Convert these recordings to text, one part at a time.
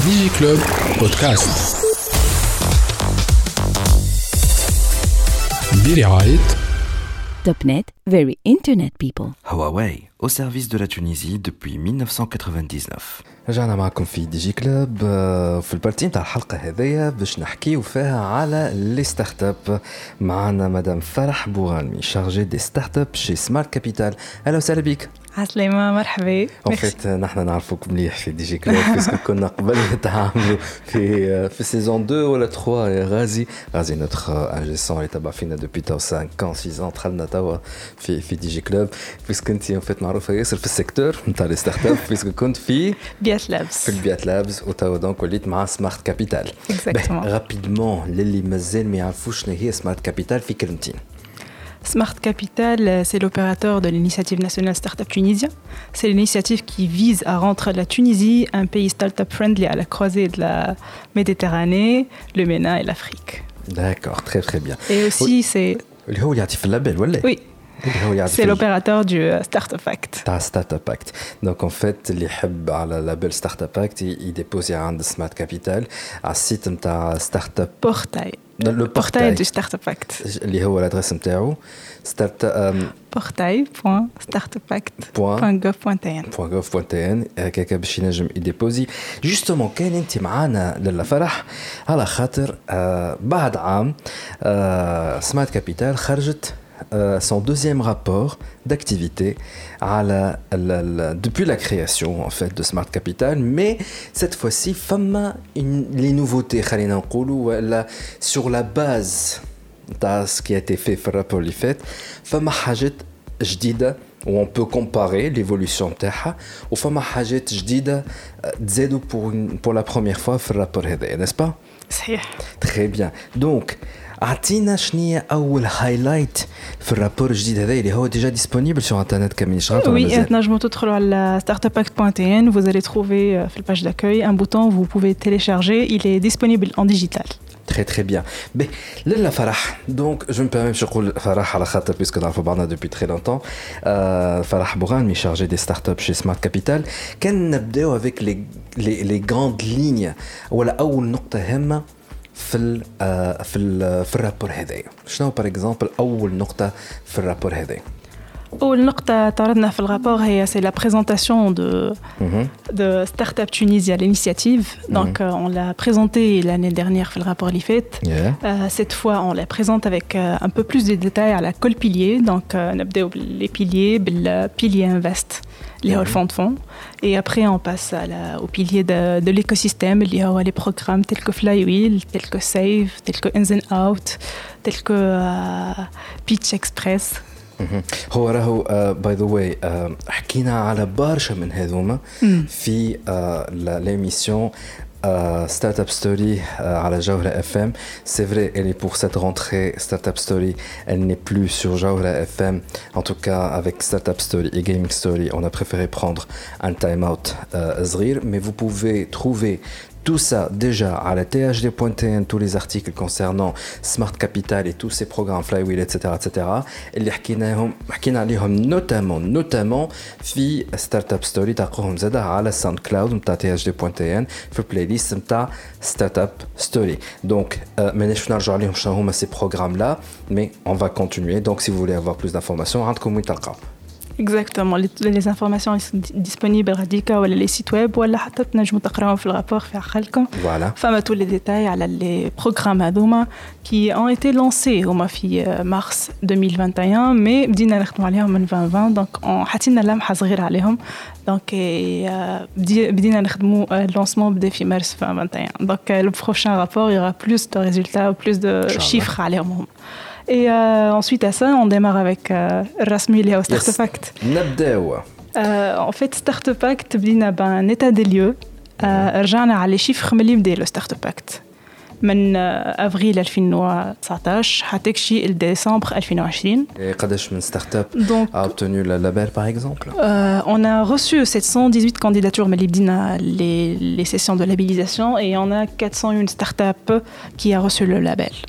ديجي كلوب بودكاست برعاية Topnet, very internet people. Huawei, au service de la Tunisie depuis 1999. رجعنا معكم في دي جي كلوب في البارتي نتاع الحلقة هذية باش نحكيو فيها على لي ستارت اب. معنا مدام فرح بوغانمي شارجي دي ستارت اب شي سمارت كابيتال. اهلا وسهلا بك. عسلامة مرحبا. وفيت نحن نعرفوك مليح في دي جي كلوب باسكو كنا قبل نتعاملوا في سيزون 2 ولا 3 يا غازي نوتخ انجي سون اللي تبع فينا دوبي تو 5 6 دخلنا توا في دي جي كلوب باسكو انت فيت معروفة ياسر في السيكتور نتاع لي ستارت اب باسكو كنت في البيات لابس وتوا دونك وليت مع سمارت كابيتال. رابيدمون للي مازال ما يعرفوش شنو هي سمارت كابيتال في كلمتين. Smart Capital, c'est l'opérateur de l'initiative nationale Startup Tunisien. C'est l'initiative qui vise à rendre la Tunisie un pays startup friendly à la croisée de la Méditerranée, le MENA et l'Afrique. D'accord, très très bien. Et aussi c'est... Oui. C'est l'opérateur du Startup Act. Startup Act. Donc en fait, les حب على label Startup Act, il dépose عند Smart Capital à site نتاع Startup Portail. Le portail du Startup Act. اللي هو l'adresse نتاعو portail.startupact.gov.tn هكاكا باش ينجم يديبوزي. جوستومون كان انت معانا لاله فرح على خاطر بعد عام سمارت كابيتال خرجت son deuxième rapport d'activité depuis la création en fait de Smart Capital, mais cette fois-ci les nouveautés sur la base de ce qui a été fait dans le rapport اللي فات فما حاجات جديدة où on peut comparer l'évolution نتاعها وفما حاجات جديدة تزادوا pour la première fois في الرابور هذا, n'est-ce pas? صحيح. Très bien. Donc عطينا شنية أول هايلايت في الرابور الجديد هذا اللي هو déjà disponible sur internet كمين شغلت ولا مازال؟ Oui, تنجموا تدخلوا على startupact.tn, vous allez trouver في الباج d'accueil un bouton, vous pouvez télécharger, il est disponible en digital. Très très bien. Mais Lalla Farah, donc je me permets de dire Farah à la khata puisque nous avons depuis très longtemps. Farah Boughani, chargé des startups chez Smart Capital. Quand nous نبداو avec les grandes lignes ولا أول نقطة هامة في الرابور هذا. شنو par exemple أول نقطة في الرابور هذا؟ أول نقطة تعرضنا في الرابور هي c'est la présentation de Startup Tunisia, l'initiative. Donc on l'a présenté l'année dernière في الرابور اللي فات. Cette fois on la présente avec un peu plus de détails à la col pilier. Donc نبداو باللي piliers, بالpilier invest اللي هو الفond de fonds. Et après on passe au pilier de l'écosystème اللي هو les programmes tels que Flywheel, tels que Save, tels que Ins and Out, tels que Pitch Express. هو راهو باي ذا واي حكينا على برشا من هذوما في l'émission Startup Story على Jawhara FM. C'est vrai, elle est pour cette rentrée Startup Story, elle n'est plus sur Jawhara FM. En tout cas, avec Startup Story et Gaming Story, on a préféré prendre un time-out zrir. Mais vous pouvez trouver tout ça déjà à la thd.tn, tous les articles concernant Smart Capital et tous ces programmes Flywheel, etc. اللي حكينا عليهم notamment في Startup Story تلقوهم زادا على SoundCloud نتاع thd.tn في البلاylist نتاع Startup Story. Donc ماناش نرجع عليهم شنو هما ces programmes là, mais on va continuer. Donc si vous voulez avoir plus d'informations عندكم وين تلقاو. Exactement, les informations sont disponibles radika ou les sites web ou la حتى تنجموا تقراوهم في الرابور في عقلكم. Voilà. فما tous les détails على les programmes هذوما qui ont été lancés هما في mars 2021 mais بدينا نخدموا عليهم من 2020 donc حطينا لمحة صغيرة عليهم donc بدينا نخدموا lancement بدأ في mars 2021 donc le prochain rapport il y aura plus de résultats ou plus de chiffres عليهم هم. Et ensuite à ça, on démarre avec Rasmi lié au Startup Act. En fait, Startup Act, بدينا un état des lieux. رجعنا على les chiffres ملي بدأ le Startup Act. من أفريل 2019 حتى شيء لديسمبر 2020. Et قداش من startup a obtenu le label par exemple? On a reçu 718 candidatures ملي بدينا les sessions de labellisation et on a 401 startups qui a reçu le label.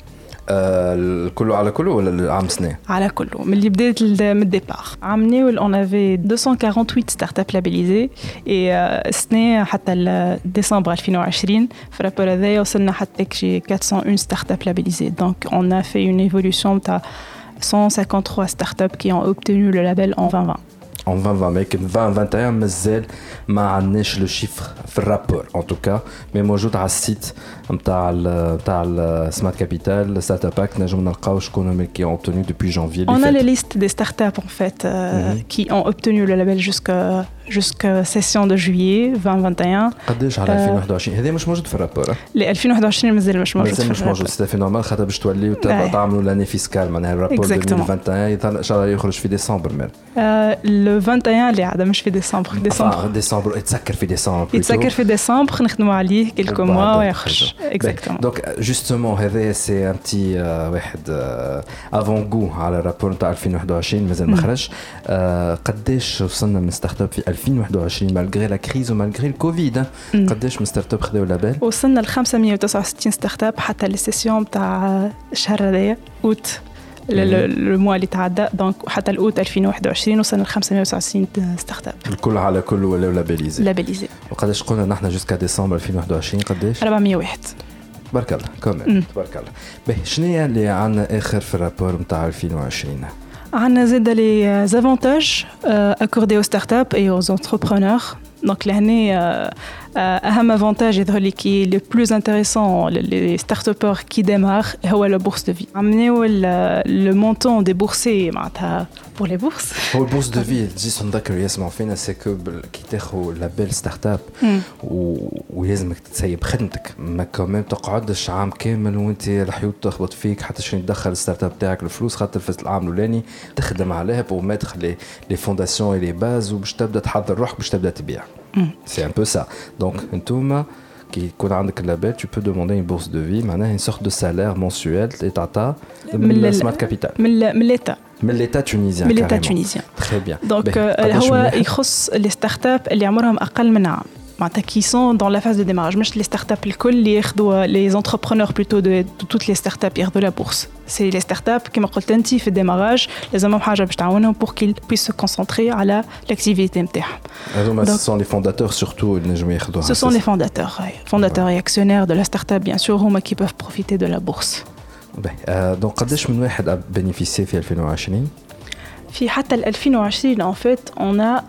كله على كله ولا العام سنة؟ على كله من اللي بدات من الديبار. عام نيول on avait 248 startups labellisées et السنة حتى ديسمبر 2020 في الرابور هذايا وصلنا حتى شي 401 startups labellisées. Donc on a fait une évolution تاع 153 startups qui ont obtenu le label en 2020. En 2020, mais 2021 مازال ما عندناش لو شيفر في الرابور en tout cas, mais موجود على السيت نتاع السمارت كابيتال ستارت اب باك نجم نلقاو شكون qui ont obtenu depuis janvier. On a les listes des startups en fait qui ont obtenu le label jusqu'à session de juillet 2021. قداش على 2021 هذا مش موجود في الرابور؟ ل 2021 مازال مش موجود. مازال مش موجود سي نورمال خاطر باش توليو تعملوا لاني فيسكال معناها الرابور 2021 ان شاء الله يخرج في ديسمبر مال. le 21 اللي عاد مش في ديسمبر. ديسمبر يتسكر في ديسمبر. يتسكر في ديسمبر نخدموا عليه كلكو موا ويخرج. Exactement. Donc justement هذا سي ان بتي واحد افون غو على الرابور نتاع 2021 مازال ما خرج. قداش وصلنا من ستارت اب في 2021 مالغري لا كريز ومالغري الكوفيد قداش من ستارت اب خذوا لابيل؟ وصلنا ل 569 ستارت اب حتى السيسيون تاع الشهر هذايا اوت الموا اللي تعدى دونك حتى الاوت 2021 وصلنا ل 569 ستارت اب الكل على كل ولاو لابيليزي. وقداش قلنا نحن جوسكا ديسمبر 2021 قداش؟ 401. تبارك الله كمان تبارك الله. باهي شنو هي اللي عندنا اخر في الرابور نتاع 2020؟ عندنا زاد لي زافونتاج accordés aux startups et aux entrepreneurs. Donc l'année أهم avantage يظهر لي كي le plus intéressant les start-upers qui démarrent هو la bourse de vie. عملوا le montant déboursé معناتها pour les bourses. هو البورس دو في جيس نذكر يسمعوا فينا سكو كي تاخذ لابيل ستارت اب ولازمك تسيب خدمتك ما كمان تقعدش عام كامل وانت الحيوط تخبط فيك حتى شنو يدخل الستارت اب تاعك الفلوس خاطر في العام الاولاني تخدم عليها بو ماتر لي فونداسيون اي لي باز وباش تبدا تحضر روحك باش تبدا تبيع. C'est un peu ça. Donc, انتوما كي يكون عندك اللابيل tu peux demander une bourse de vie معناها une sorte de salaire mensuel لتعطى من السمارت كابيتال من l'état tunisien. من l'état tunisien. Très bien. Donc هو يخص les startups اللي عمرهم أقل من عام. معناتها qui sont dans la phase de démarrage مش les startups الكل اللي ياخذوا les entrepreneurs plutôt de toutes les startups ياخذوا la bourse. C'est les startups كما قلت انت في الديماراج لازمهم حاجه باش تعاونهم pour qu'ils puissent se concentrer على l'activité نتاعهم. هذوما ce sont les fondateurs surtout اللي نجموا ياخذوها. Ce sont les fondateurs et actionnaires de la startup bien sûr هما qui peuvent profiter de la bourse. donc قداش من واحد bénéficié في 2020؟ في حتى 2020 en fait on a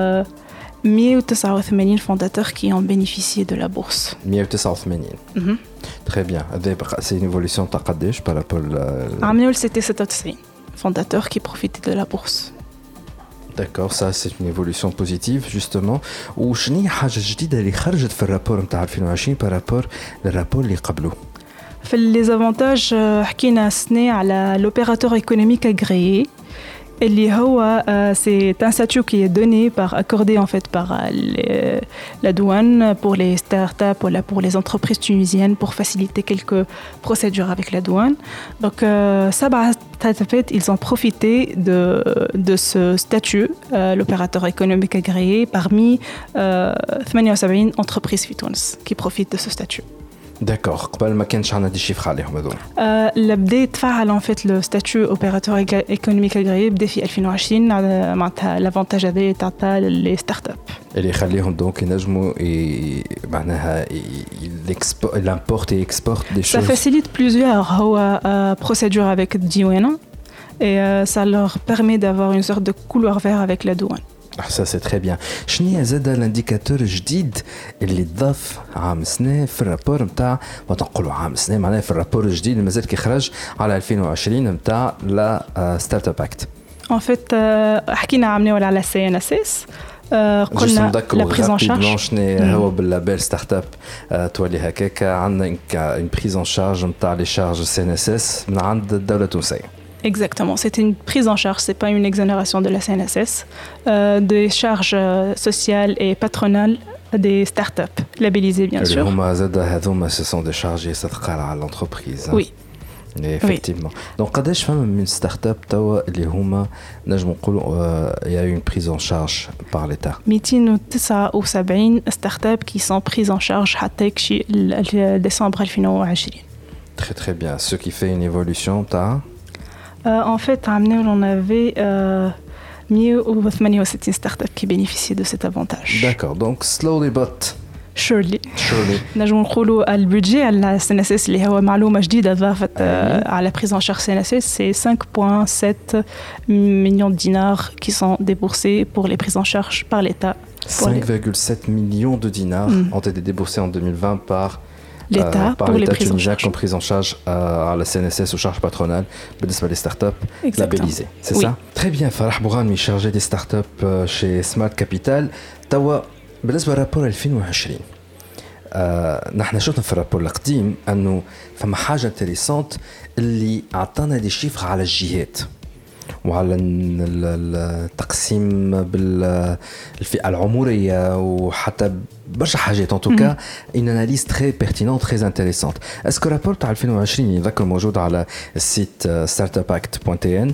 189 fondateurs qui ont bénéficié de la bourse. 189. Très bien. C'est une évolution de قداش par rapport عام نول c'était 96 fondateurs qui profitaient de la bourse. D'accord, ça c'est une évolution positive justement. وشنو هي حاجة جديدة اللي خرجت في الرابور نتاع 2020 par rapport للرابور اللي قبله؟ في les avantages حكينا السنة على l'opérateur économique agréé. اللي هو c'est un statut qui est donné accordé en fait par la douane pour les startups ou pour les entreprises tunisiennes pour faciliter quelques procédures avec la douane. Donc Sabah startups ils ont profité de ce statut l'opérateur économique agréé parmi 78 entreprises في تونس qui profitent de ce statut. D'accord. قبل ما كانش عندنا دي شيفر عليهم هذول. اللي بدا يتفعل en fait le statut opérateur économique agréé بدا في 2020 معناتها لافونتاج هذا تاع لي ستارت اب اللي يخليهم دونك ينجموا معناها l'importe et exporte des choses. Ça facilite plusieurs هو procédure avec الديوانه et ça leur permet d'avoir une sorte de couloir vert avec la douane. Ça c'est très bien. شنو هي زاد الانديكاتور الجديد اللي ضاف عام سنه في الرابور نتاع ما تنقولوا عام سنه معناها في الرابور الجديد اللي مازال كيخرج على 2020 نتاع لا ستارت اب اكت؟ En fait حكينا عاملين على CNSS قلنا لا بريز ان شارج شنو هو باللابيل ستارت اب تولي هكاك عندنا une prise en charge نتاع لي شارج CNSS من عند الدوله التونسيه. Exactement, c'est une prise en charge, c'est pas une exonération de la CNSS, des charges sociales et patronales des startups labellisées bien sûr. Ce sont des charges يستثقل على l'entreprise. Oui. Effectivement. Donc قداش فما من ستارت توا اللي هما نجم نقولوا il y a eu une prise en charge par l'État. 279 startups qui sont prises en charge حتى يكشي ديسمبر 2020. Très très bien. Ce qui fait une évolution, En fait, à Amnéoul, on avait 168 startups qui bénéficiaient de cet avantage. D'accord, donc slowly but Surely. surely. نجم نقولوا البودجي على CNSS اللي هو معلومة جديدة ضافت على prise en charge CNSS, c'est 5,7 millions de dinars qui sont déboursés pour les prises en charge par l'État. 5,7 millions de dinars ont été déboursés en 2020 par l'État pour les prises en tunisien charge. comme prise en charge à la CNSS aux charges patronales بالنسبة les startups labellisées. C'est Oui. ça? Très bien. Farah Bourami, chargé des startups chez Smart Capital. توا بالنسبة للرابور 2020 نحن شفنا في الرابور القديم أنه فما حاجة انتريسانت اللي أعطانا دي شيفر على الجهات وعلى التقسيم بالفئة العمرية وحتى برشا حاجات en tout cas une analyse très pertinente très intéressante. Est-ce que le rapport تاع 2020 يذكر موجود على السيت startupact.tn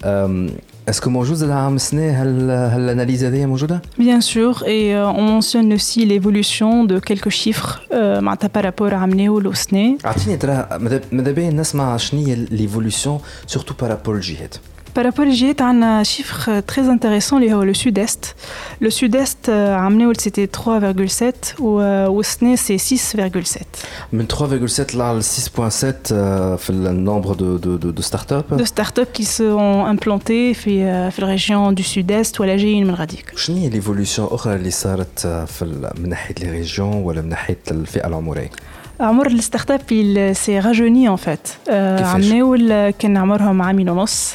est-ce que موجود العام السنة هالاناليز هذه موجودة؟ Bien sûr, et on mentionne aussi l'évolution de quelques chiffres معناتها par rapport à عملناو السنة. أعطيني ترى ماذا بين نسمع شنو هي l'évolution surtout par rapport للجهات. Par rapport aux JET, on a un chiffre très intéressant, le Sud-Est. Le Sud-Est, c'était 3,7 ou au SNE, c'est 6,7. من 3,7 là le 6,7 في le nombre de startups. De startups qui sont implantées dans la région du Sud-Est ou à la GIN Melradik. شنو هي l'évolution أخرى اللي صارت من ناحية les régions ولا من ناحية الفئة العمرية؟ عمر الستارت اب il s'est rajeuni en fait. عملوا كان عمرهم عامين ونص.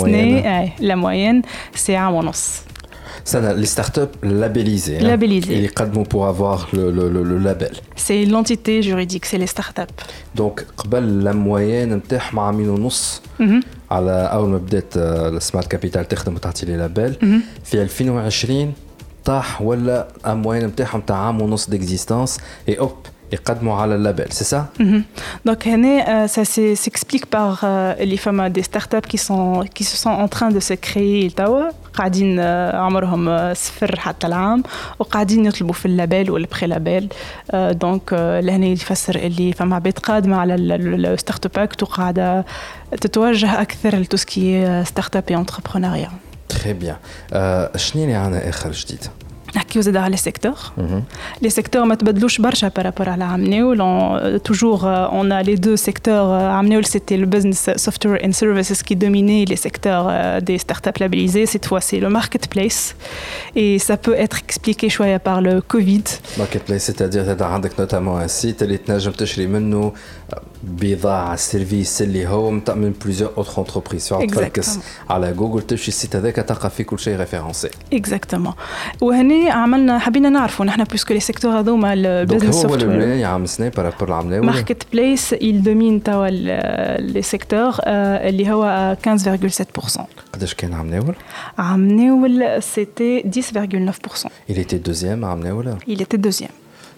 La moyenne c'est عام ونص. Ça, les startups labellisées. Labellisées. Et les cadres pour avoir le label. C'est l'entité juridique, c'est les startups. Donc, قبل la moyenne نتاعهم عامين ونص. على أول ما بدأت السمارت كابيتال تخدم وتعطي لي لابيل. في 2020 طاح ولا الموين نتاعهم تاع عام ونص d'existence et hop. يقدموا على اللابel, c'est ça? Donc, ça s'explique par les femmes des startups qui se sont en train de se créer. قاعدين عمرهم صفر حتى العام وقاعدين يطلبوا في اللابel والبري لابel. دونك لهنا يفسر اللي فما عباد قادمة على الستارت اب اكت وقاعدة تتوجه أكثر لتوسكي ستارت اب انتربرونيا. Très bien. شنو اللي عنا آخر جديد؟ نحكيو زاد على السيكتور. Les secteurs ما تبدلوش برشا par rapport على عمناول. Toujours on a les deux secteurs. عمناول c'était le business software and services qui dominait les secteurs des startups labellisées. Cette fois c'est le marketplace et ça peut être expliqué شوية par le Covid. Marketplace c'est-à-dire tu as عندك notamment un site اللي تنجم تشري منه بضاعة سيرفيس اللي هو من plusieurs autres entreprises. تركز على جوجل تمشي السيت هذاك تلقى فيه كل شيء ريفيرونسي. Exactement. وهني عملنا حبينا نعرفوا نحن بيسكو لي سيكتور هذوما البيزنس سوفتوير. هو اللي عام سنة بارابور العملة ماركت بليس il domine توا لي سيكتور اللي هو 15,7%. قداش كان عمناول؟ عمناول c'était 10,9%. Il était deuxième عمناول؟ Il était deuxième.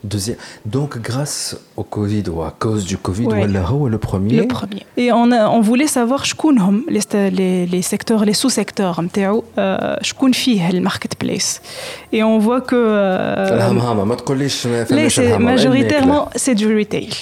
Donc grâce au Covid ou à cause du Covid, ولا هو le premier. Le premier. Et on voulait savoir شكونهم les secteurs, les sous-secteurs نتاعو شكون فيه الماركت بليس. Et on voit que الهمهمة ما تقوليش majoritairement c'est du retail.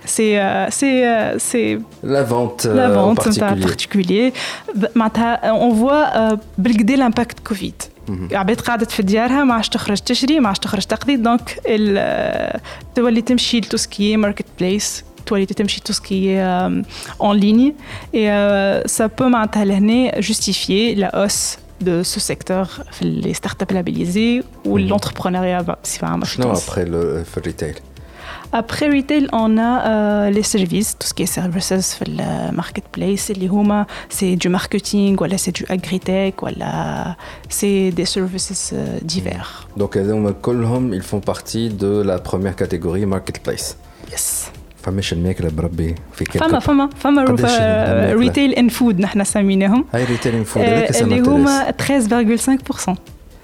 C'est la vente en particulier. On voit بالقدا l'impact Covid. عباد قاعدة في ديارها ما عادش تخرج تشري ما عادش تخرج تقضي دونك تولي تمشي لتوسكي ماركت بليس تولي تمشي توسكي en ligne et ça peut معناتها لهنا justifier la hausse de ce secteur les startups labellisées ou l'entrepreneuriat بصفة عامة. شنو après le retail? Après retail, on a les services, tout ce qui est services في le marketplace, اللي هما c'est du marketing, voilà, c'est du agritech, voilà, c'est des services divers. Donc كلهم ils font partie de la première catégorie marketplace. Yes. فماش الماكلة بربي في فما retail and food نحن سميناهم. هاي retail and food اللي هما 13,5%.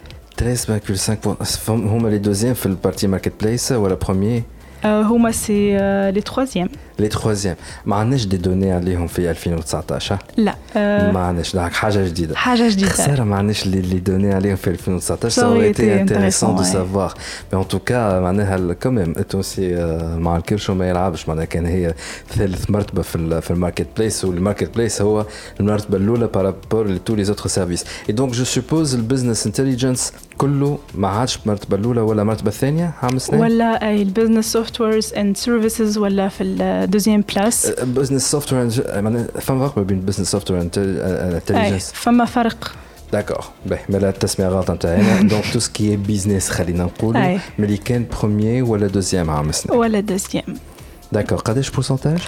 13,5% هما les deuxièmes في le partie marketplace ou la première? هما c'est les troisièmes. لي تروازيام ما عندناش دي دوني عليهم في 2019 لا ما عندناش دونك حاجه جديده حاجه خساره ما عندناش لي دوني عليهم في 2019 ça aurait été intéressant de savoir mais en tout cas معناها كمان التونسي مع الكرش وما يلعبش معناها كان هي ثالث مرتبه في الماركت بليس والماركت بليس هو المرتبه الاولى بارابور لتو لي زوتر سيرفيس اي دونك جو سوبوز البزنس انتليجنس كله ما عادش المرتبه الاولى ولا المرتبه الثانيه عام سنين ولا البزنس سوفت ويرز اند سيرفيسز ولا في الدوزيام بلاس بزنس سوفت وير فما فرق بين بزنس سوفت وير انتليجنس فما فرق داكور باهي مالا التسميه غلط نتاعنا دونك تو سكي بيزنس خلينا نقولوا ملي كان بروميير ولا دوزيام عام سنين ولا دوزيام D'accord. قداش pourcentage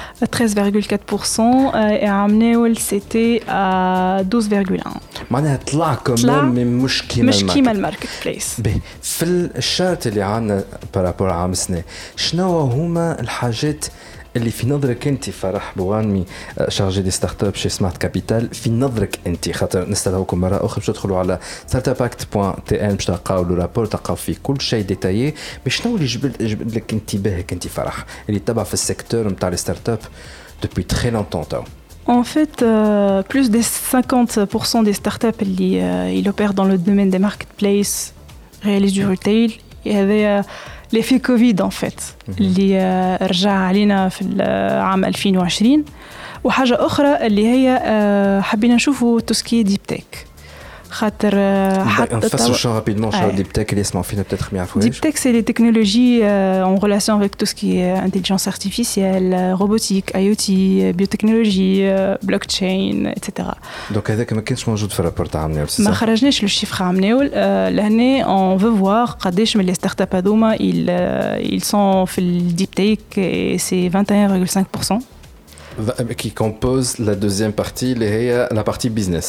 13,4% et عمناول c'était à 12,1 معناها طلع كمان مش كيما الماركت بليس باهي في الشارت اللي عندنا بارابور عام سنة شنو هما الحاجات اللي في نظرك انت فرح بوغانمي شارجي دي ستارت اب شي سمارت كابيتال في نظرك انت خاطر نستدعوكم مره اخرى باش تدخلوا على startupact.tn باش تلقاو لو رابور تلقاو فيه كل شيء ديتايي مي شنو اللي جبد لك انتباهك انت فرح اللي تبع في السيكتور نتاع لي ستارت اب depuis très longtemps تاو En fait, plus de 50% des startups ils opèrent dans le domaine des marketplaces, réalisent du retail. Il y avait l'effet Covid en fait, اللي رجع علينا في العام 2020 وحاجة أخرى اللي هي حبينا نشوفوا توسكي ديب تك خاطر حتى نفسروا شو رابيدمون شو ديب تك اللي يسمعوا فينا peut-être ما يعرفوش ديب تك c'est les technologies en relation avec tout ce qui est intelligence artificielle, robotique, IoT, biotechnologie, blockchain, etc. Donc هذاك ما كانش موجود في الرابور تاع عمناول ما خرجناش لو شيفر عمناول لهنا on veut voir قداش من les startups هذوما ils sont في الديب تك et c'est 21,5% qui compose la deuxième partie اللي هي la partie business.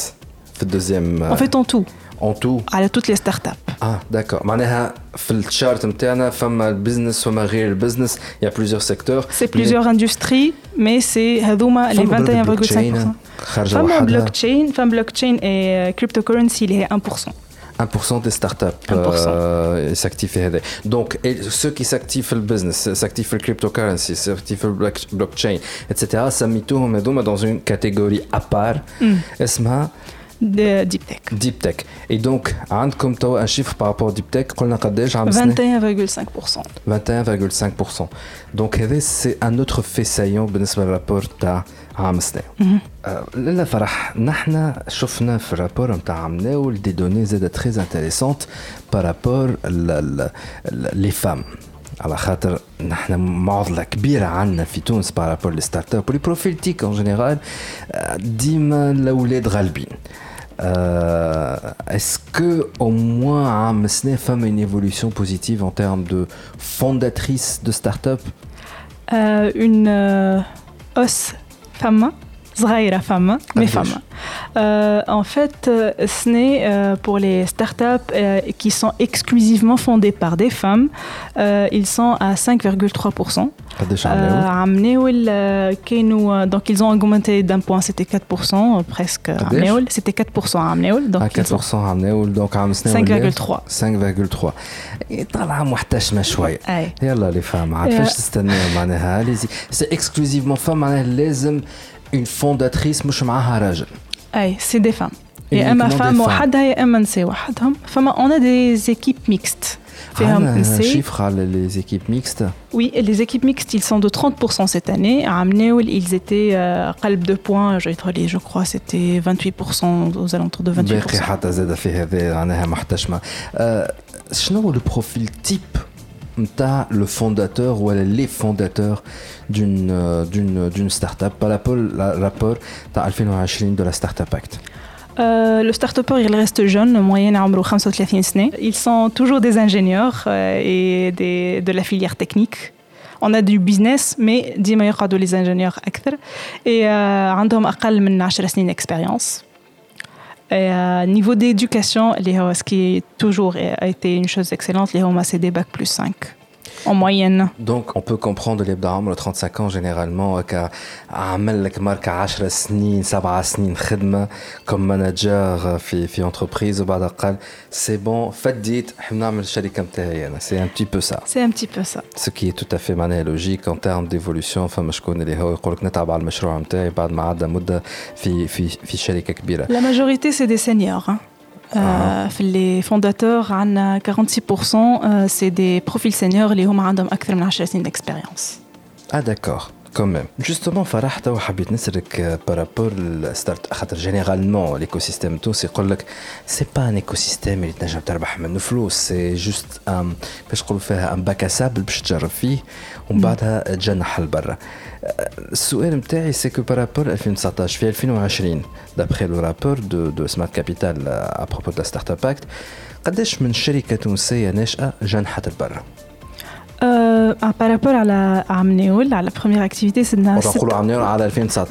En fait, en tout. En tout. À toutes les startups. Ah, d'accord. معناها في الشارت نتاعنا فما البزنس وما غير البزنس. Il y a plusieurs secteurs. C'est plusieurs industries, mais c'est هذوما les 21,5%. فما blockchain et cryptocurrency اللي هي 1%. 1% des startups s'activent. Donc, ceux qui s'activent dans le business, s'activent dans le cryptocurrency, s'activent dans le blockchain, etc., ça met dans une catégorie à part. Esma Deep Tech. Deep Tech. Et donc, عندكم تو un chiffre par rapport au Deep Tech قلنا قداش عام سنة 21,5%. 21,5%. Donc, c'est un autre fait saillant بالنسبة للرابور تاع عام سنة. لا فرح نحن شفنا في الرابور نتاع عمناول دي دوني زادة très intéressantes par rapport les femmes. على خاطر نحن معضلة كبيرة عنا في تونس بارابور لي ستارت اب ولي بروفيل تيك ان جينيرال ديما الاولاد غالبين. Est-ce que au moins عام سنة فما une évolution positive en termes de fondatrices de start-up? Une hausse femme صغيرة femme mais femme. En fait, ce n'est pour les startups qui sont exclusivement fondées par des femmes, ils sont à 5,3%. Donc ils ont augmenté d'un point, c'était 4% presque. C'était 4% à Amnéoul. Donc 4% à Amnéoul, donc à 5,3. 5,3. طلع محتشمة شوية. يلا les femmes عارفاش تستنى معناها c'est exclusivement femmes معناها لازم une fondatrice مش معها راجل. أي c'est des femmes. يا إما femme وحدها يا إما نساء وحدهم. فما on a des équipes mixtes. Un chiffre على les équipes mixtes. Oui, les équipes mixtes ils sont de 30% cette année. À Amnéoul ils étaient قلب 2 points. Je crois c'était 28% aux alentours de 28%. باقي حتى زاد في هذا معناها محتشمة. شنو هو le profil type نتاع le fondateur ou les fondateurs d'une start-up par rapport تاع 2020 de la Startup Act. Le start-upper, il reste jeune, moyenne عمره 35 سنة. Ils sont toujours des ingénieurs et de la filière technique. On a du business, mais ديما يقعدوا les ingénieurs أكثر. Et عندهم أقل من 10 سنين expérience. Niveau d'éducation, ce qui est toujours a été une chose excellente, c'est des bac plus 5. en moyenne. Donc on peut comprendre اللي بدا عمره 35 ans généralement عمل لك ماركة 10 سنين 7 سنين خدمة comme manager في entreprise وبعد قال c'est bon فديت نحب نعمل الشركة متاعي أنا. C'est un petit peu ça. C'est un petit peu ça. Ce qui est tout à fait معناه logique en termes d'évolution. فما شكون اللي هو يقول لك نتعب على المشروع متاعي بعد ما عدى مدة في شركة كبيرة. La majorité c'est des seniors. Hein. Les fondateurs, 46%, c'est des profils seniors qui ont plus de 10 ans d'expérience. Ah d'accord, quand même. Justement, Farah, je voulais dire par rapport au start, généralement, l'écosystème tout, c'est pas un écosystème qui peut gagner منه فلوس, c'est juste باش نقولوا فيها un bac à sable باش تجرب فيه ومن بعدها تجنح لبرا. السؤال متاعي c'est que par rapport à 2019 في 2020 d'après le rapport de Smart Capital à propos de la Startup Act قداش من شركة تونسية ناشئة جنحت لبرا؟ Par rapport à la la première activité, c'est على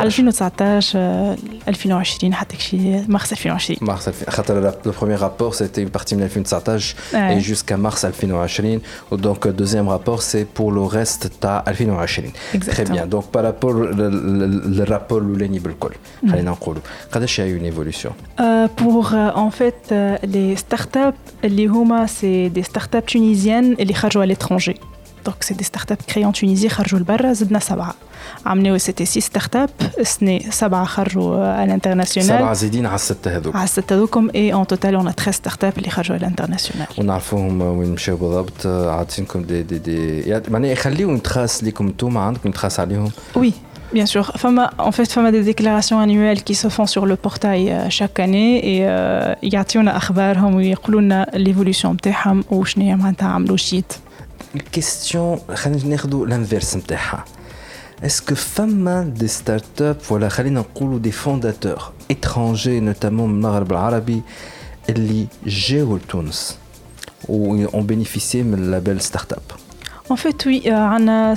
2019 2020 حتى شي mars 2020. Le premier rapport c'était une partie de 2019 et jusqu'à mars 2020 donc le deuxième rapport c'est pour le reste de 2020. Très bien. Donc par rapport le rapport l'ولاني بالكل خلينا نقولوا قداش y a eu une évolution pour en fait les startups اللي هما c'est des startups tunisiennes اللي خرجوا à l'étranger. Donc c'est des startups créées en Tunisie خرجوا لبرا زدنا 7 عملوا c'était 6 startups سنة 7 خرجوا à l'international 7 زايدين على 6 هذوك et en total on a 13 startups اللي خرجوا à l'international ونعرفوهم وين مشاو بالضبط عاطينكم دي يعني معناها يخليهم تخاص لكم انتوما عندكم تخاص عليهم Oui. Bien sûr. En fait, il y a des déclarations annuelles qui se font sur le portail chaque année et يعطيونا أخبارهم ويقولون l'évolution بتاعهم وشنو هي معناتها عملوا شيت. Question, خلينا ناخذوا l'inverse نتاعها. Est-ce que فما des startups ولا خلينا نقولوا des fondateurs étrangers notamment من المغرب العربي اللي جاوا لتونس و ont bénéficié من اللابel startup? En fait, oui, on a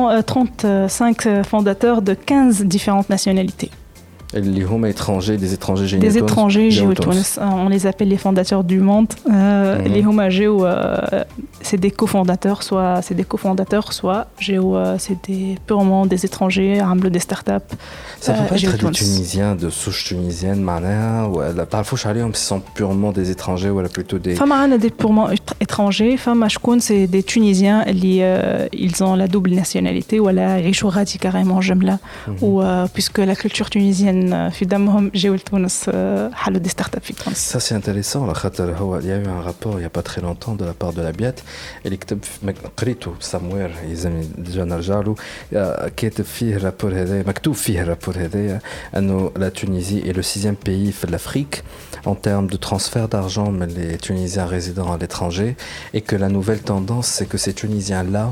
35 fondateurs de 15 différentes nationalités. اللي هما étrangers, des étrangers géo Des étrangers géo Tunis. On les appelle les fondateurs du monde. Les homa géo, c'est des cofondateurs, soit c'est des cofondateurs, soit géo, c'est purement des étrangers, des startups. Ça peut pas être des Tunisiens de souche tunisienne, معناها ولا تعرفوش عليهم ce sont purement des étrangers ou plutôt des. Femme a des purement étrangers. Femme شكون c'est des Tunisiens ils ont la double nationalité ou la يعيشوا غادي carrément جملة ou puisque la culture tunisienne في دمهم جاوا لتونس حلوا دي ستارت اب في تونس. Ça c'est intéressant على خاطر هو il y a eu un rapport il y a pas très longtemps de la part de la BIAT اللي كتب قريته somewhere يلزمني ديجا نرجع له كاتب فيه الرابور هذا مكتوب فيه الرابور هذا انه la Tunisie est le 6e pays في l'Afrique en termes de transfert d'argent mais les Tunisiens résidant à l'étranger et que la nouvelle tendance c'est que ces Tunisiens là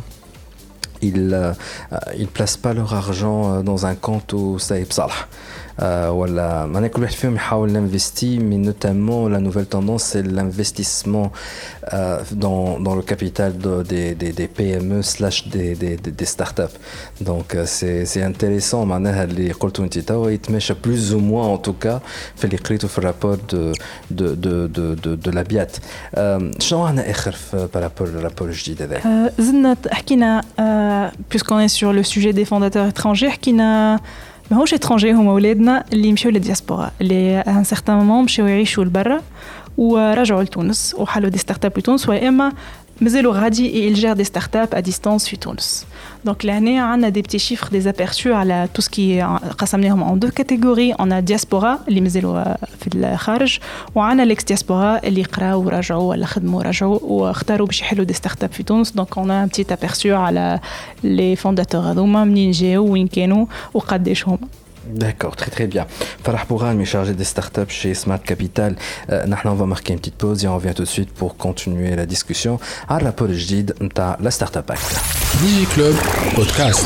ils placent pas leur argent dans un compte au Saïb Salah. Voilà, maintenant que le film يحاول l'investir, mais notamment la nouvelle tendance c'est l'investissement dans le capital des PME / des startups. Donc c'est intéressant. معناها اللي قلتوا انت توا يتماشى plus ou moins en tout cas في اللي قريته في الرابور de la BIAT. شنو عندنا آخر par rapport للرابور الجديد هذا؟ زدنا حكينا puisqu'on est sur le sujet des fondateurs étrangers حكينا ماهوش étrangers هما ولادنا اللي مشاو للدياسبورا اللي à un certain moment مشاو يعيشوا لبرا ورجعوا لتونس وحلوا دي ستارت اب في تونس واما مازالوا غادي et ils gèrent des startups à distance في تونس. Donc l'année on a des petits chiffres des aperçus على tout ce qui est قسمناهم en deux catégories. On a diaspora اللي مازالوا في الخارج وعنا l'ex diaspora اللي قراو ورجعوا ولا خدموا ورجعوا واختاروا باش يحلوا دي ستارت اب في تونس. Donc on a un petit aperçu على les fondateurs هذوما منين جاوا وين كانوا وقداش هما. D'accord, très très bien. Farah Bourane, chargé des startups chez Smart Capital. On va marquer une petite pause et on revient tout de suite pour continuer la discussion. À rapport جديد نتاع la Startup Act. DigiClub Podcast.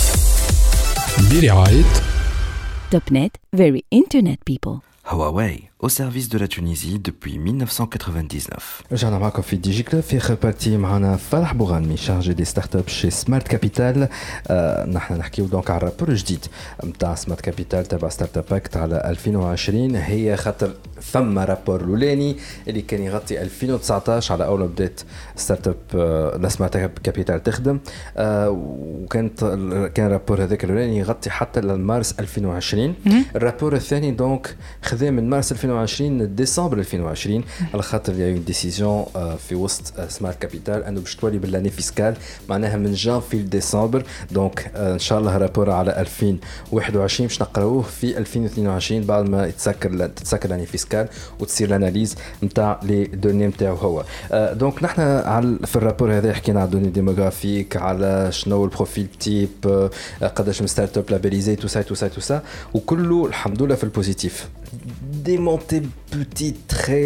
برعاية Topnet, very internet people. Huawei. au service de la Tunisie depuis 1999. رجعنا معكم في دي جي كلوب في اخر بارتي معنا فرح بوغانمي شارجي دي ستارت اب شي سمارت كابيتال. نحن نحكيو دونك على الرابور الجديد نتاع سمارت كابيتال تبع ستارت اب اكت على 2020. هي خاطر ثم رابور الاولاني اللي كان يغطي 2019 على اول بدات ستارت اب سمارت كابيتال تخدم، وكان الرابور هذاك الاولاني يغطي حتى لمارس 2020. الرابور الثاني دونك خذا من مارس 2020 لديسمبر 2020 على خاطر يا اون ديسيزيون في وسط سمارت كابيتال انه باش تولي بالاني فيسكال معناها من جانفي لديسمبر. دونك ان شاء الله رابور على 2021 باش نقراوه في 2022 بعد ما تتسكر الاني فيسكال وتصير الاناليز نتاع لي دوني نتاعو هو. دونك نحن في الرابور هذا حكينا على دوني ديموغرافيك، على شنو البروفيل تيب، قداش من ستارت اب لابيليزي تو سا وكله الحمد لله في البوزيتيف. Des montées petites,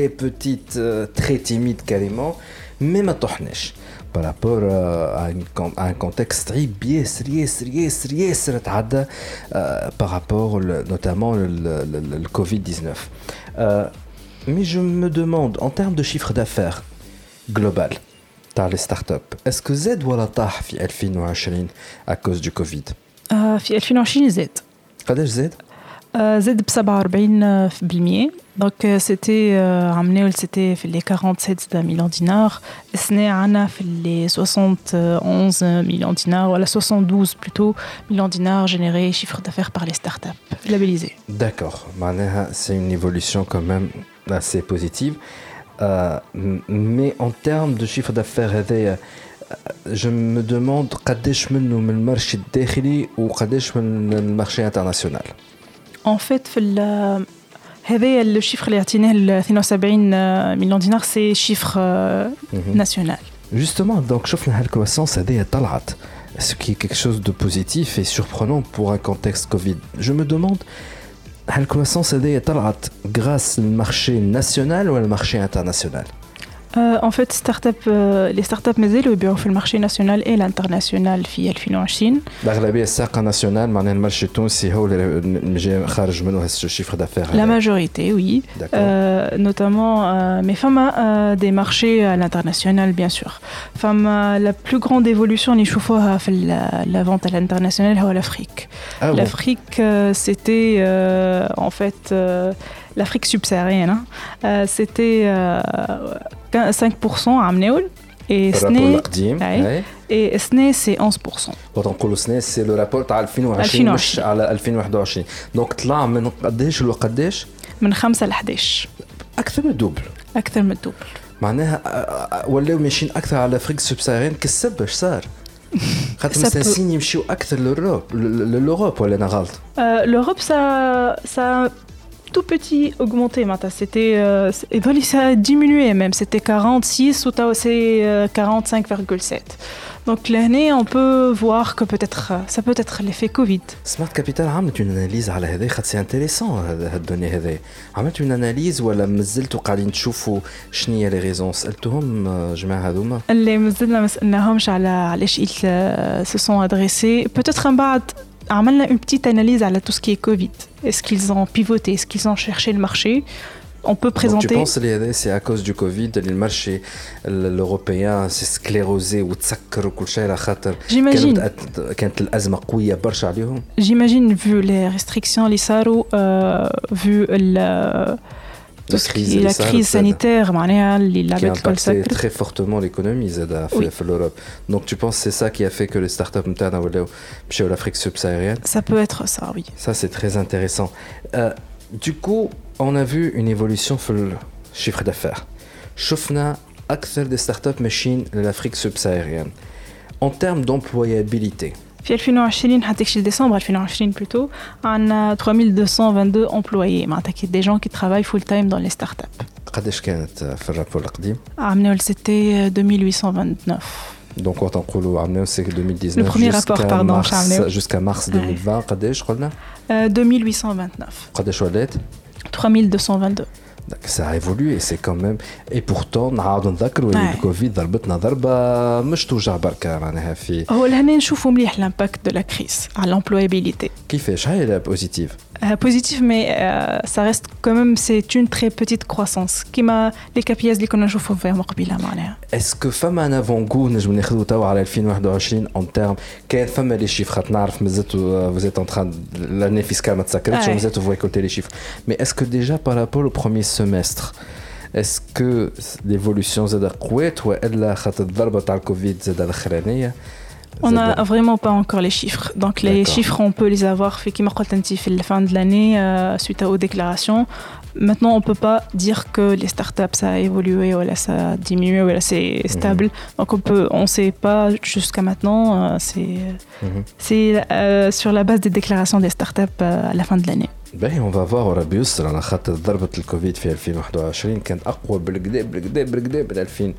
très timides carrément, mais ما طحناش par rapport à un contexte très sérieux تعدى par rapport notamment le Covid-19. Mais je me demande, en termes de chiffre d'affaires global تاع les startups, est-ce que زاد ولا طاح في 2020 à cause du Covid؟ في 2020 زاد. قداش زاد؟ زاد ب 47%. Donc c'était عملناه c'était في les 47 مليون دينار، السنة عنا في les 71 مليون دينار ولا 72 plutôt مليون دينار générés chiffre d'affaires par les startups labellisés. D'accord, معناها c'est une évolution quand même assez positive. Mais en termes de chiffre d'affaires هذايا je me demande قداش منه من المارشي الداخلي وقداش من المارشي international. En fait في هذا الشيفر اللي عطيناه 72 مليون دينار سي شيفر ناسيونال. Justement, donc شفنا هالكرواسانس هذه طلعت ce qui est quelque chose de positif et surprenant pour un contexte Covid. Je me demande هالكرواسانس هذه طلعت grâce للمارشي national ou le marché international? En fait, les startups مازالوا يبيعوا في المارشي ناسيونال et l'international في 2020. الأغلبية الساقة ناسيونال معناها المارشي التونسي هو اللي جاي خارج منه هذا الشيفر دافير. La majorité, oui. Notamment, mais فما des marchés à l'international, bien sûr. فما la plus grande évolution اللي نشوفوها في la vente à l'international هو l'Afrique. L'Afrique, c'était en fait l'Afrique subsaharienne. C'était 5% عمناول et SNE et SNE c'est 11%. وتنقولوا SNE c'est le rapport تاع 2020 مش على 2021. دونك طلع من قداش لقداش؟ من 5 ل 11. أكثر من الدوبل. أكثر من الدوبل. معناها ولاو ماشيين أكثر على أفريقيا السبساهاريين كالسبب اش صار؟ خاطر مستنسين يمشيو أكثر للأوروب ولا أنا غلط؟ L'Europe ça tout petit augmenté maintenant, c'était ça a diminué même, c'était 46 ou c'est 45,7. Donc l'année on peut voir que peut-être ça peut être l'effet Covid. Smart Capital عملت une analyse على هذا خاطر سي انتريسون هذا الدوني هذا. عملت une analyse ولا مازلتوا قاعدين تشوفوا شنو هي لي ريزون؟ سألتهم جماعة هذوما؟ اللي مازلنا ما سألناهمش على علاش ils se sont adressés. Peut-être من بعد عملنا une petite analyse à tout ce qui est Covid. Est-ce qu'ils ont pivoté? Est-ce qu'ils ont cherché le marché? On peut présenter. Donc, tu penses que c'est à cause du Covid que le marché européen s'est sclérosé ou تسكر وكل شيء على خاطر كانت الأزمة قوية برشا عليهم؟ J'imagine vu les restrictions اللي صاروا vu la crise sanitaire معناها اللي لعبت كل سكر très fortement l'économie زاد في l'Europe. Donc tu penses c'est ça qui a fait que les startups نتاعنا ولاو مشاو l'Afrique subsaharienne? Ça peut être ça, oui. Ça c'est très intéressant. Du coup, on a vu une évolution في le chiffre d'affaires. شفنا أكثر des startups ماشيين l'Afrique subsaharienne. En termes d'employabilité. في 2020 حتى كشي ديسمبر 2020 plutôt عندنا 3222 employés معناتها des gens qui travaillent full time dans les startups. قداش كانت في الرابور القديم؟ عملوا c'était 2829. Donc quand on parle عملوا c'est 2019 le premier rapport pardon jusqu'à mars 2020 قداش قلنا؟ 2829. قداش ولات؟ 3222. Ça a évolué, c'est quand même. Et pourtant, نعاودوا نذكروا اللي الكوفيد ضربتنا ضربة مش توجع بركة معناها في. هو لهنا نشوفوا مليح l'impact de la crise على l'employabilité. كيفاش؟ هاي لا بوزيتيف. positif, mais ça reste quand même, c'est une très petite croissance. Comme les KPIs اللي كنا نشوفوا فيهم قبيله معناها. Est-ce que فما un avant-goût نجم ناخذوا توا على 2021 en termes كان فما les chiffres خاطر نعرف مازلتوا vous êtes en train l'année fiscale ما تسكرتش ومازلتوا vous récoltez les chiffres. Mais est-ce que déjà par rapport au premier semestre est-ce que l'évolution زاد قوات والا خاطر الضربه تاع الكوفيد زاد الاخرانيه؟ On n'a vraiment pas encore les chiffres. Donc les chiffres, on peut les avoir fait comme à la fin de l'année suite aux déclarations. Maintenant, on ne peut pas dire que les startups ça a évolué ou là, ça a diminué ou là, c'est stable. Donc on ne sait pas jusqu'à maintenant. C'est sur la base des déclarations des startups à la fin de l'année. باهي on va voir ربي يستر على خاطر ضربة الكوفيد في 2021 كانت أقوى بالكدا من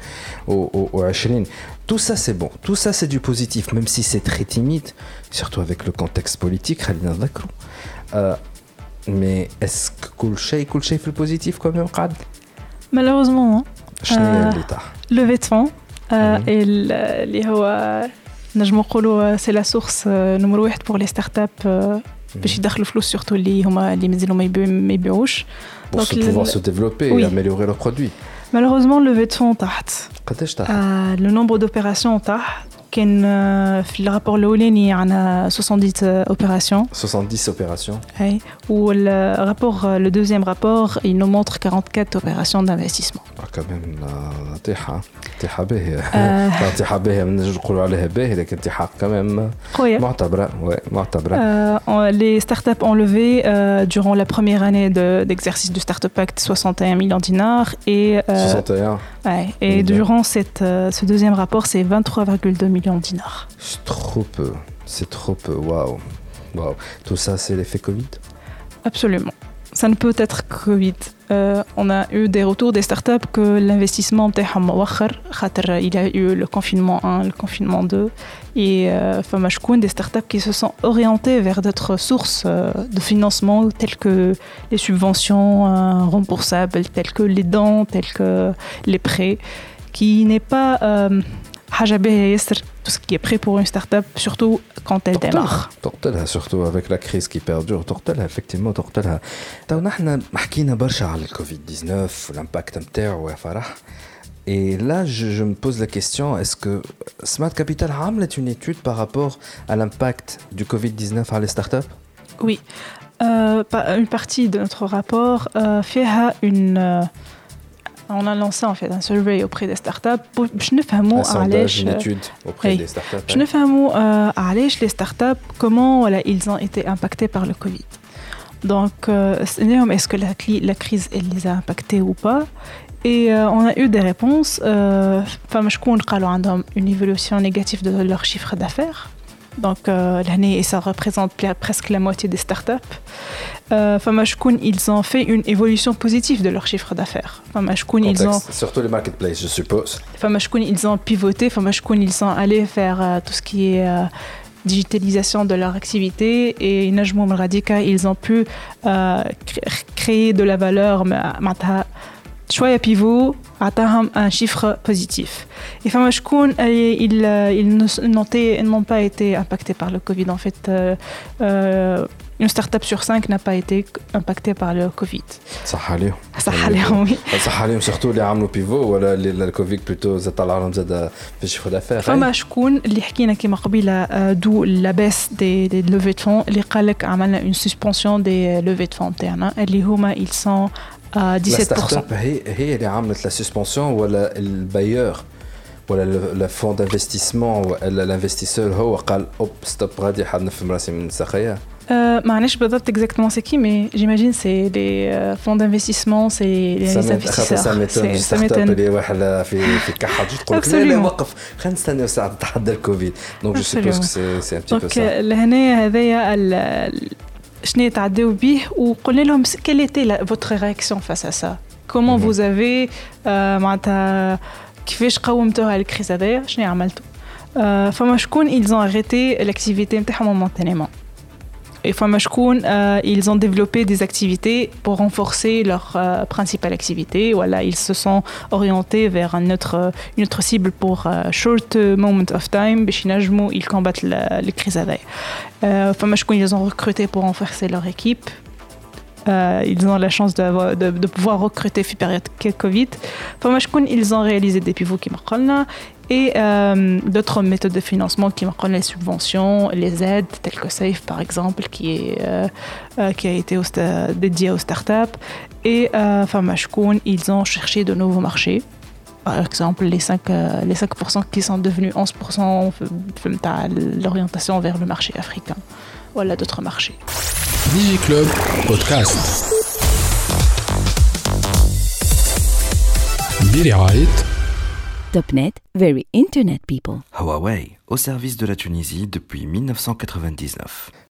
2020. Tout ça c'est bon, tout ça c'est du positif, même si c'est très timide, surtout avec le contexte politique. خلينا نذكروا. Mais est-ce que كل شيء في البوزيتيف quand même قاعد؟ Malheureusement. شنو هي اللي طاح؟ Levée de fonds اللي هو نجم نقولوا c'est la source numéro 1 pour les startups. باش يدخلوا فلوس سورتو اللي هما اللي مازالوا ما يبيعوش pour pouvoir se développer et améliorer leurs produits. Malheureusement le fonds تحت قداش تحت؟ le nombre d'opérations تحت كان في الرابور الاولاني عندنا 70 opérations 70 opérations. اي والرابور le deuxième rapport il nous montre 44 opérations d'investissement. quand même طيحه باهيه طيحه باهيه نجم نقولوا عليها باهيه لكن طيحه quand même معتبره les startups ont levé durant la première année d'exercice du Startup Act 61 millions dinars et 61 et durant ce deuxième rapport c'est 23,2 millions dinars. C'est trop peu. Waouh. Tout ça c'est l'effet Covid? Absolument. Ça ne peut être que Covid. On a eu des retours des startups que l'investissement il y a eu le confinement 1, le confinement 2 et des startups qui se sont orientées vers d'autres sources de financement telles que les subventions remboursables, telles que les dons, telles que les prêts, qui n'est pas tout ce qui est prêt pour une start-up, surtout quand elle démarre. تقتلها surtout avec la crise qui perdure, تقتلها effectivement تقتلها. تو نحن حكينا برشا على الكوفيد 19 والامباكت نتاعو يا فرح. Et là, je me pose la question, est-ce que Smart Capital a une étude par rapport à l'impact du Covid-19 sur les startups? Oui, une partie de notre rapport fait on a lancé en fait un survey auprès des startups pour un sondage, une étude auprès des startups. Je ne sais les startups comment ils ont été impactés par le Covid. Donc, est-ce que la crise elle les a impactés ou pas? Et on a eu des réponses. Une évolution négative de leur chiffre d'affaires. Donc l'année, ça représente presque la moitié des startups. Ils ont fait une évolution positive de leur chiffre d'affaires. Surtout les marketplaces, je suppose. Ils ont pivoté. Ils sont allés faire tout ce qui est digitalisation de leur activité et ils ont pu créer de la valeur. شوية pivot atteint un chiffre positif. Et ils n'ont pas été impactés par le Covid. En fait, une start-up sur 5 n'a pas été impactée par le Covid. صح عليهم. oui. صح عليهم surtout اللي عملوا pivot ولا اللي الكوفيد بلوتو زاد طلع لهم زاد في الشيفر دافير. فما شكون اللي حكينا كيما قبيله دو لا بيس دي لوفي دو فون اللي قال لك عملنا une suspension des levées de fonds تاعنا اللي هما ils sont 17%. الستارت هي اللي عملت لا سسبنسيون ولا البايور ولا الفون دانفستيسمون ولا الانفستيسور هو قال اوب ستوب غادي حد نفهم راسي من الساقيه؟ ما عرفش بالضبط exactement c'est qui mais j'imagine c'est les fonds d'investissement c'est les investisseurs. ça m'étonne اللي واحد في كحه تقول لك لا وقف خلينا نستناو ساعه تحدى الكوفيد دونك جو سوبوز كو سي ان بتي بو سا. لهنا هذايا شنو تعداو به وقلنا لهم quelle était votre réaction face à ça? Comment vous avez معناتها كيفاش قاومتوها الكريز هذايا؟ شنو عملتوا؟ فما شكون ils ont arrêté l'activité نتاعهم momentanément. Et فما شكون ils ont développé des activités pour renforcer leur principale activité. Voilà, ils se sont orientés vers une autre cible pour short moment of time باش ينجموا ils combattent les crises هذايا. فما شكون ils ont recruté pour renforcer leur équipe. ils ont la chance de pouvoir recruter في période Covid. فما شكون ils ont réalisé des pivots كما قلنا et d'autres méthodes de financement qui m'ont les subventions, les aides telles que Safe par exemple qui a été dédié aux startups et ils ont cherché de nouveaux marchés. Par exemple, les 5% qui sont devenus 11% l'orientation vers le marché africain. Voilà d'autres marchés. DigiClub Podcast. برعاية Topnet, very internet people. Huawei, au service de la Tunisie depuis 1999.